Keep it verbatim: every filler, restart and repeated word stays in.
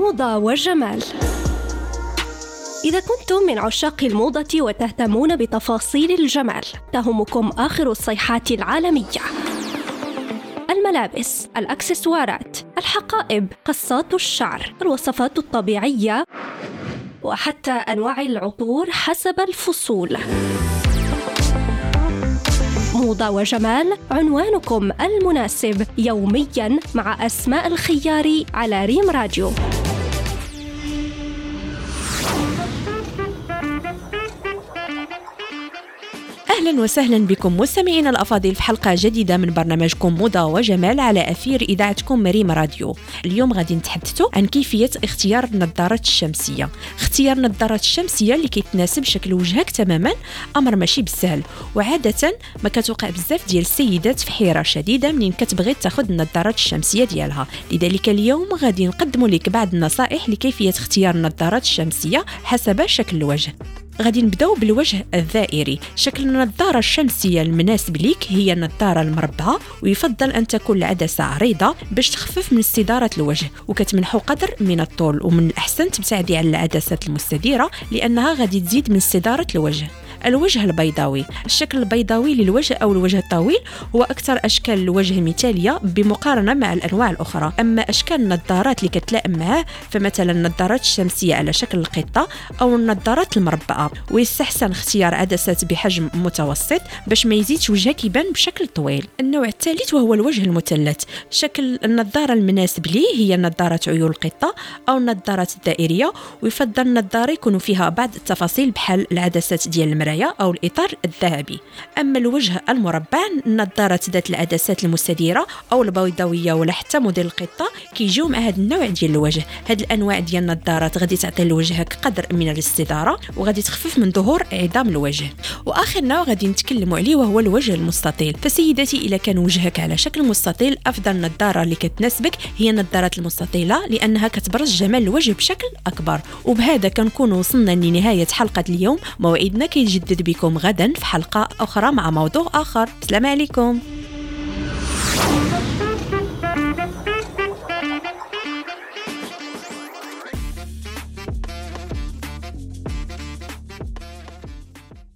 موضة وجمال. إذا كنتم من عشاق الموضة وتهتمون بتفاصيل الجمال، تهمكم آخر الصيحات العالمية: الملابس، الأكسسوارات، الحقائب، قصات الشعر، الوصفات الطبيعية، وحتى أنواع العطور حسب الفصول. موضة وجمال، عنوانكم المناسب يومياً مع أسماء الخياري على ريم راديو. أهلا وسهلا بكم مستمعينا الأفاضل في حلقة جديدة من برنامجكم موضة وجمال على أثير إذاعتكم ريم راديو. اليوم غادي نتحدثوا عن كيفية اختيار النظارات الشمسية. اختيار النظارات الشمسية اللي كيتناسب شكل وجهك تماما أمر ماشي بالسهل، وعادة ما كتوقع بزاف ديال السيدات في حيرة شديدة منين كتبغي تاخذ النظارات الشمسية ديالها. لذلك اليوم غادي نقدم لك بعض النصائح لكيفية اختيار النظارات الشمسية حسب شكل الوجه. غادي نبداو بالوجه الدائري. شكل النظارة الشمسية المناسب ليك هي النظارة المربعة، ويفضل أن تكون العدسة عريضة باش تخفف من استدارة الوجه، وكتمنحو قدر من الطول، ومن الأحسن تبتعدي على العدسات المستديرة لأنها غادي تزيد من استدارة الوجه. الوجه البيضاوي. الشكل البيضاوي للوجه أو الوجه الطويل هو أكثر أشكال الوجه مثالية بمقارنة مع الأنواع الأخرى. أما أشكال النظارات اللي كتلائم معاه فمثلا النظارات الشمسية على شكل القطة أو النظارات المربعة، ويستحسن اختيار عدسات بحجم متوسط باش ما يزيدش وجهك يبان بشكل طويل. النوع الثالث وهو الوجه المثلث. شكل النظارة المناسب ليه هي نظارة عيون القطة أو النظارات الدائرية، ويفضل النظارة يكون فيها بعض التفاصيل بحال العدسات ديال المراية أو الإطار الذهبي. أما الوجه المربع، النظارة ذات العدسات المستديرة أو البيضاوية ولا حتى موديل القطة كيجيو مع هذا النوع ديال الوجه. هاد الأنواع ديال النظارات غادي تعطي لوجهك قدر من الاستدارة وغادي تخفف من ظهور عظام الوجه. وآخر نوع غادي نتكلموا عليه وهو الوجه المستطيل. فسيداتي إذا كان وجهك على شكل مستطيل، أفضل نظارة اللي كتناسبك هي النظارات المستطيلة لأنها كتبرز جمال الوجه بشكل أكبر. وبهذا كنكون وصلنا لنهاية حلقة اليوم. موعدنا كيجدد بكم غدا في حلقة أخرى مع موضوع آخر. السلام عليكم.